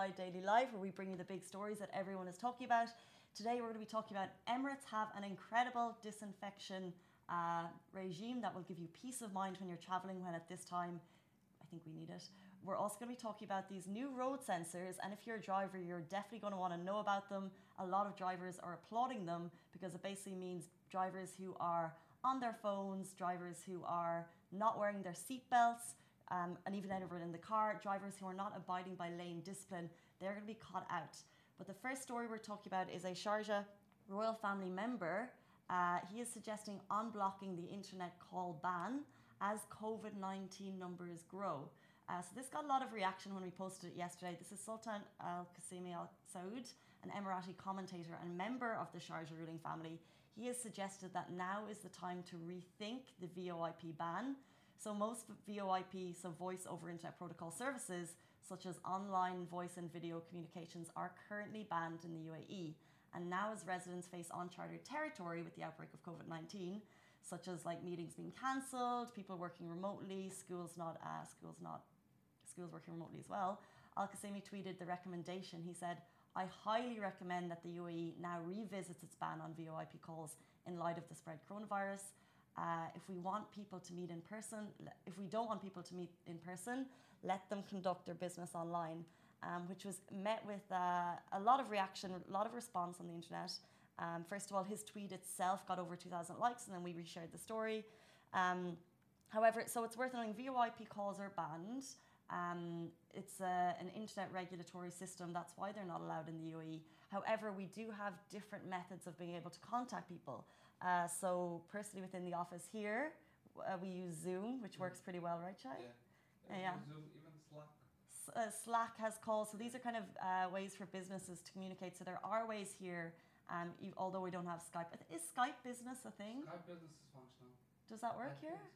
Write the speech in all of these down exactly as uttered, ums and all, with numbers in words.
Worldwide Daily Live, where we bring you the big stories that everyone is talking about. Today we're going to be talking about Emirates have an incredible disinfection uh, regime that will give you peace of mind when you're traveling, when at this time, I think we need it. We're also going to be talking about these new road sensors, and if you're a driver, you're definitely going to want to know about them. A lot of drivers are applauding them because it basically means drivers who are on their phones, drivers who are not wearing their seatbelts, um, and even everyone in the car, drivers who are not abiding by lane discipline, they're going to be caught out. But the first story we're talking about is a Sharjah royal family member. Uh, he is suggesting unblocking the internet call ban as COVID nineteen numbers grow. Uh, so this got a lot of reaction when we posted it yesterday. This is Sultan Al Qasimi Al Saud, an Emirati commentator and member of the Sharjah ruling family. He has suggested that now is the time to rethink the V O I P ban. So most V O I P, so voice over internet protocol services, such as online voice and video communications, are currently banned in the U A E. And now as residents face uncharted territory with the outbreak of COVID nineteen, such as like meetings being cancelled, people working remotely, schools not, uh, schools not, schools working remotely as well. Al Qasimi tweeted the recommendation. He said, "I highly recommend that the U A E now revisits its ban on V O I P calls in light of the spread coronavirus. Uh, if we want people to meet in person, if we don't want people to meet in person, let them conduct their business online," um, which was met with uh, a lot of reaction, a lot of response on the internet. Um, first of all, his tweet itself got over two thousand likes, and then we reshared the story. Um, however, so it's worth knowing V O I P calls are banned. Um, it's a, an internet regulatory system. That's why they're not allowed in the U A E. However, we do have different methods of being able to contact people. Uh, so personally within the office here, uh, we use Zoom, which works pretty well, right, Chai? Yeah. Uh, yeah. Zoom, even Slack. S- uh, Slack has calls. So these are kind of uh, ways for businesses to communicate. So there are ways here, um, e- although we don't have Skype. Is Skype business a thing? Skype business is functional. Does that work I here? think so.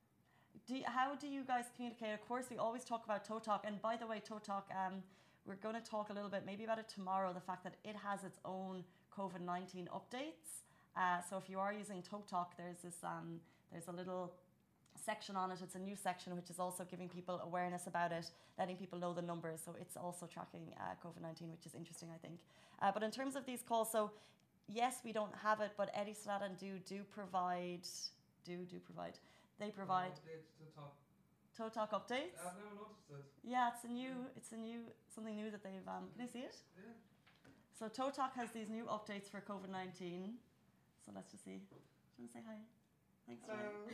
Do you, how do you guys communicate? Of course, we always talk about ToeTalk. And by the way, ToeTalk, um, we're going to talk a little bit maybe about it tomorrow, the fact that it has its own COVID nineteen updates. Uh, so if you are using ToeTalk, there's this, um, there's a little section on it. It's a new section which is also giving people awareness about it, letting people know the numbers. So it's also tracking uh, COVID nineteen, which is interesting, I think. Uh, but in terms of these calls, so yes, we don't have it, but Etisalat and Do do provide, do do provide. They provide Updates to talk. ToeTalk updates. I've never noticed it. Yeah, it's a new, it's a new, something new that they've. Um, can you see it? Yeah. So ToeTalk has these new updates for COVID nineteen. So let's just see. Do you want to say hi? Thanks. Hello.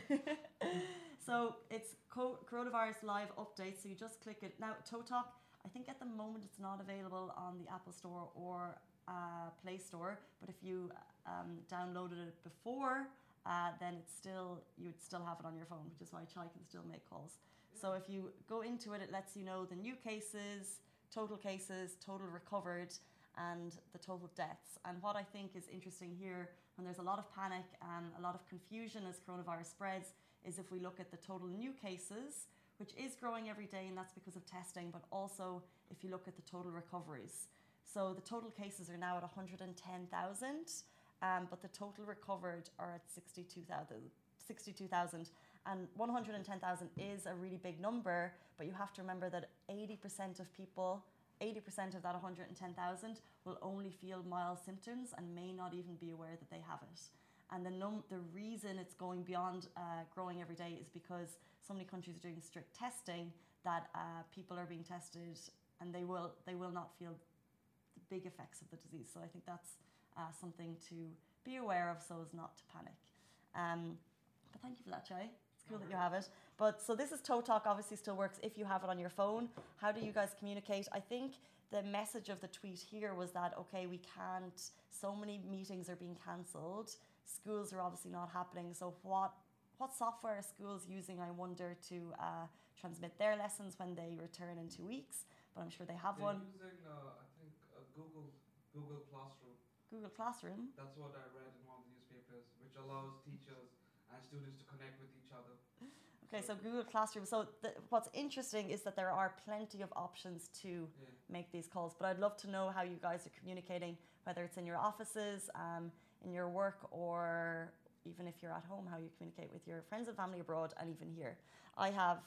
So it's co- coronavirus live updates. So you just click it. Now ToeTalk, I think at the moment it's not available on the Apple Store or uh, Play Store. But if you um, downloaded it before, uh, then it's still you would still have it on your phone, which is why Chai can still make calls. Yeah. So if you go into it, it lets you know the new cases, total cases, total recovered, and the total deaths. And what I think is interesting here, when there's a lot of panic and a lot of confusion as coronavirus spreads, is if we look at the total new cases, which is growing every day, and that's because of testing, but also if you look at the total recoveries. So the total cases are now at one hundred ten thousand, um, but the total recovered are at sixty-two thousand. sixty-two thousand, and one hundred ten thousand is a really big number, but you have to remember that eighty percent of people, eighty percent of that one hundred ten thousand will only feel mild symptoms and may not even be aware that they have it. And the num- the reason it's going beyond uh, growing every day is because so many countries are doing strict testing that uh, people are being tested and they will they will not feel the big effects of the disease. So I think that's uh, something to be aware of so as not to panic. Um, but thank you for that, Chai. It's cool that you have it. But so this is ToeTalk, obviously still works if you have it on your phone. How do you guys communicate? I think the message of the tweet here was that, okay, we can't, so many meetings are being cancelled. Schools are obviously not happening. So what what software are schools using, I wonder, to uh, transmit their lessons when they return in two weeks? But I'm sure they have They're one. using, uh, I think, uh, Google Google Classroom. Google Classroom. That's what I read in one of the newspapers, which allows teachers and students to connect with each other. Okay, so Google Classroom. So the, what's interesting is that there are plenty of options to Yeah. make these calls. But I'd love to know how you guys are communicating, whether it's in your offices, um, in your work, or even if you're at home, how you communicate with your friends and family abroad, and even here. I have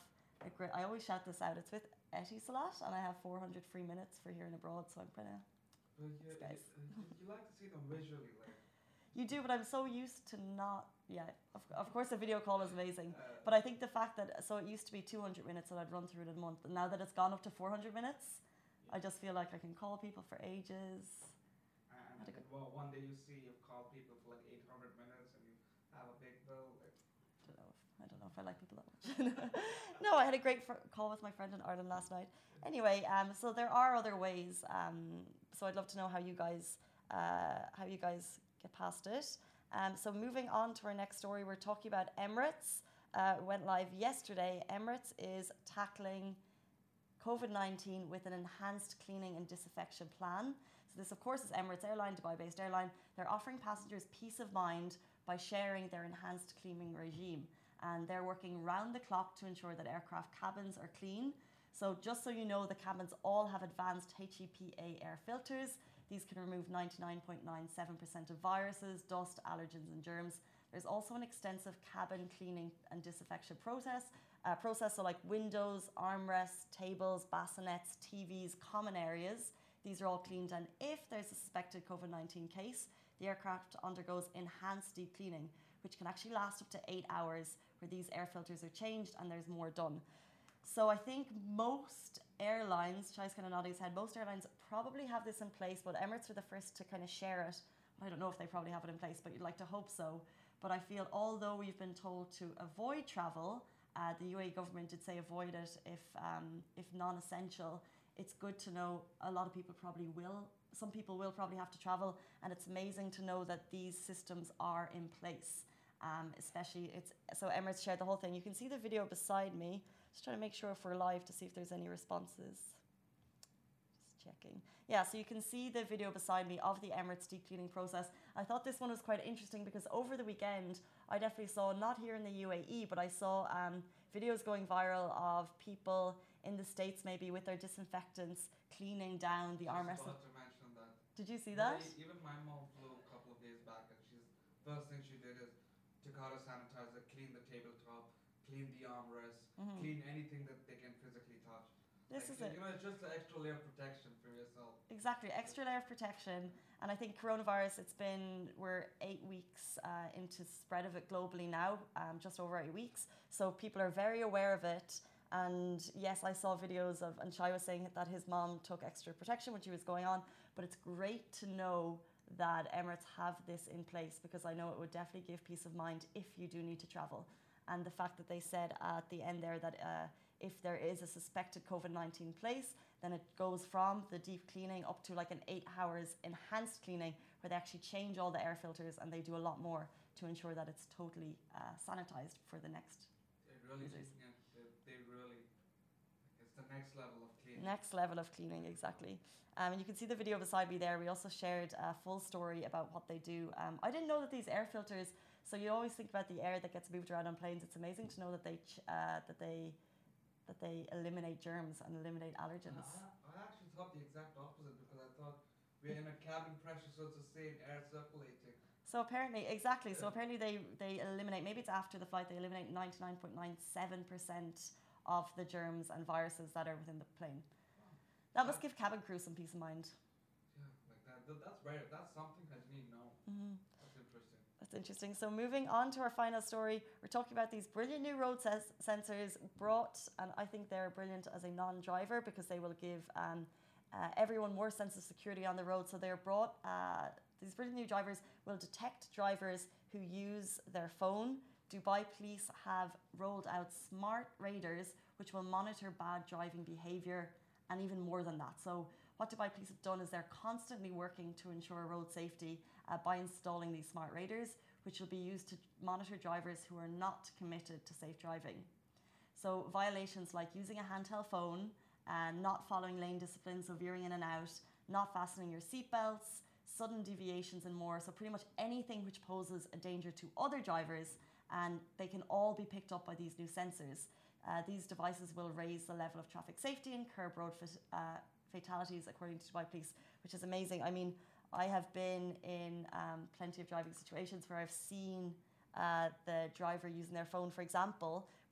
a great, I always shout this out. It's with Etisalat, and I have four hundred free minutes for here and abroad, so I'm kind of. But you, guys. you, you like to see them visually, like. You do, but I'm so used to not. Yeah, of, of course, a video call is amazing. Uh, But I think the fact that, so it used to be two hundred minutes that I'd run through in a month, and now that it's gone up to four hundred minutes, I just feel like I can call people for ages. And, Had a and good- well, one day you see you've called people for like eight hundred minutes and you have a big bill. Like, I don't know if, I don't know if I like people that much. No, I had a great fr- call with my friend in Ireland last night. Anyway, um, so there are other ways. Um, so I'd love to know how you guys, uh, how you guys get past it. Um, so moving on to our next story, we're talking about Emirates. Uh, went live yesterday. Emirates is tackling COVID nineteen with an enhanced cleaning and disinfection plan. So this, of course, is Emirates Airline, Dubai-based airline. They're offering passengers peace of mind by sharing their enhanced cleaning regime. And they're working round the clock to ensure that aircraft cabins are clean. So just so you know, the cabins all have advanced H E P A air filters. These can remove ninety-nine point nine seven percent of viruses, dust, allergens and germs. There's also an extensive cabin cleaning and disinfection process. Uh, process so like windows, armrests, tables, bassinets, T Vs, common areas. These are all cleaned, and if there's a suspected COVID nineteen case, the aircraft undergoes enhanced deep cleaning, which can actually last up to eight hours, where these air filters are changed and there's more done. So I think most airlines, Chai's kind of nodding his head, most airlines probably have this in place, but Emirates are the first to kind of share it. I don't know if they probably have it in place, but you'd like to hope so. But I feel although we've been told to avoid travel, uh, the U A E government did say avoid it if, um, if non-essential. It's good to know a lot of people probably will, some people will probably have to travel, and it's amazing to know that these systems are in place. Um, especially, it's so Emirates shared the whole thing. You can see the video beside me. Just trying to make sure if we're live to see if there's any responses. Just checking. Yeah, so you can see the video beside me of the Emirates deep cleaning process. I thought this one was quite interesting because over the weekend, I definitely saw, not here in the U A E, but I saw um, videos going viral of people in the States maybe with their disinfectants cleaning down the just armrests. about to mention that. Did you see that? Yeah, even my mom flew a couple of days back, and she's first thing she did is took out a sanitizer, clean the tabletop, clean the armrest, Mhm. clean anything that they can physically touch. This Like, is it. You know, it's just an extra layer of protection for yourself. Exactly, extra layer of protection. And I think coronavirus, it's been, we're eight weeks uh, into spread of it globally now, um, just over eight weeks. So people are very aware of it. And yes, I saw videos of, and Shai was saying that his mom took extra protection when she was going on. But it's great to know that Emirates have this in place, because I know it would definitely give peace of mind if you do need to travel. And the fact that they said at the end there that uh, if there is a suspected COVID nineteen place, then it goes from the deep cleaning up to like an eight hours enhanced cleaning, where they actually change all the air filters and they do a lot more to ensure that it's totally uh, sanitized for the next. They really, Users. yeah, they, they really, it's the next level of cleaning. Next level of cleaning, exactly. Um, and you can see the video beside me there. We also shared a full story about what they do. Um, I didn't know that these air filters, so you always think about the air that gets moved around on planes. It's amazing to know that they ch- uh, that they that they eliminate germs and eliminate And allergens. I, I actually thought the exact opposite, because I thought we're in a cabin pressure, so it's the same air circulating. So apparently, exactly. So apparently they, they eliminate, maybe it's after the flight, they eliminate ninety-nine point nine seven percent of the germs and viruses that are within the plane. That must give cabin crew some peace of mind. Yeah, like that. Th- That's rare. That's something I didn't know. Mm-hmm. That's interesting. That's interesting. So moving on to our final story, we're talking about these brilliant new road ses- sensors brought, and I think they're brilliant as a non-driver, because they will give um, uh, everyone more sense of security on the road. So they're brought, uh, these brilliant new drivers will detect drivers who use their phone. Dubai police have rolled out smart radars which will monitor bad driving behaviour, and even more than that. So what Dubai police have done is they're constantly working to ensure road safety uh, by installing these smart radars, which will be used to monitor drivers who are not committed to safe driving. So violations like using a handheld phone, and not following lane discipline, so veering in and out, not fastening your seatbelts, sudden deviations and more. So pretty much anything which poses a danger to other drivers, and they can all be picked up by these new sensors. Uh, these devices will raise the level of traffic safety and curb road fit, uh, fatalities, according to Dubai Police, which is amazing. I mean, I have been in um, plenty of driving situations where I've seen uh, the driver using their phone. For example,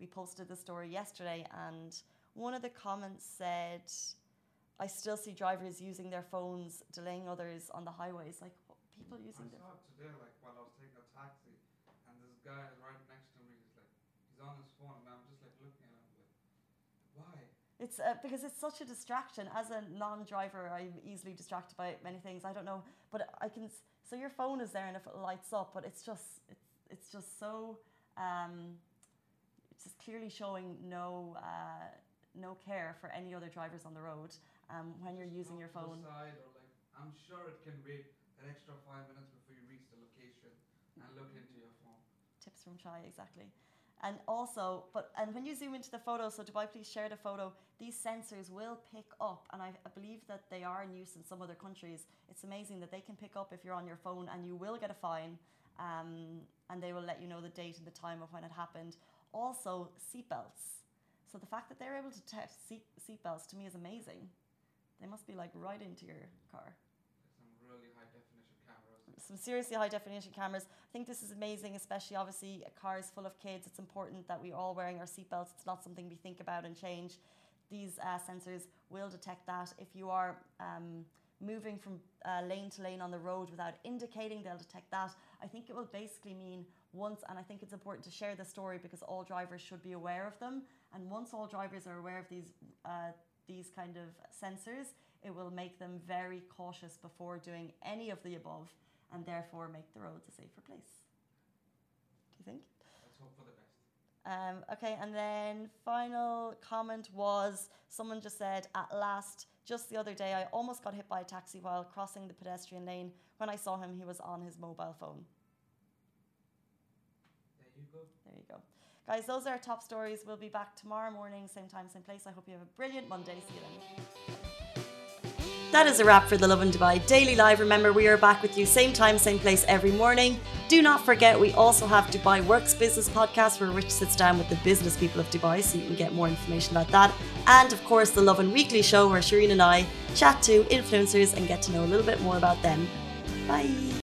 we posted the story yesterday, and one of the comments said, I still see drivers using their phones, delaying others on the highways. Like, people using I their saw it today, like while I was taking a taxi, and this guy is right next to me. He's like, he's on his phone, and I'm just like looking at him, like, why? It's uh, because it's such a distraction. As a non-driver, I'm easily distracted by many things. I don't know, but I can. So your phone is there, and if it lights up, but it's just it's it's just so um, it's just clearly showing no uh, no care for any other drivers on the road um, when you're using your phone. Side or like, I'm sure it can wait an extra five minutes before you reach the location and look into your phone. Tips from Chai, exactly. And also, but and when you zoom into the photo, so Dubai, please share the photo. These sensors will pick up, and I, I believe that they are in use in some other countries. It's amazing that they can pick up if you're on your phone, and you will get a fine, um, and they will let you know the date and the time of when it happened. Also, seatbelts. So the fact that they're able to test seat seatbelts to me is amazing. They must be like right into your car. Some really high definition cameras. Some seriously high definition cameras. I think this is amazing, especially obviously a car is full of kids. It's important that we're all wearing our seatbelts. It's not something we think about and change. These uh, sensors will detect that. If you are um, moving from uh, lane to lane on the road without indicating, they'll detect that. I think it will basically mean once, and I think it's important to share the story because all drivers should be aware of them. And once all drivers are aware of these uh, these kind of sensors, it will make them very cautious before doing any of the above, and therefore make the roads a safer place. Do you think? Let's hope for the best. Um, okay, and then final comment was, someone just said, at last, just the other day, I almost got hit by a taxi while crossing the pedestrian lane. When I saw him, he was on his mobile phone. There you go. There you go. Guys, those are our top stories. We'll be back tomorrow morning, same time, same place. I hope you have a brilliant Monday. See you then. That is a wrap for the Lovin Dubai Daily Live. Remember, we are back with you same time, same place every morning. Do not forget, we also have Dubai Works Business Podcast, where Rich sits down with the business people of Dubai, so you can get more information about that. And of course, the Lovin Weekly Show, where Shireen and I chat to influencers and get to know a little bit more about them. Bye.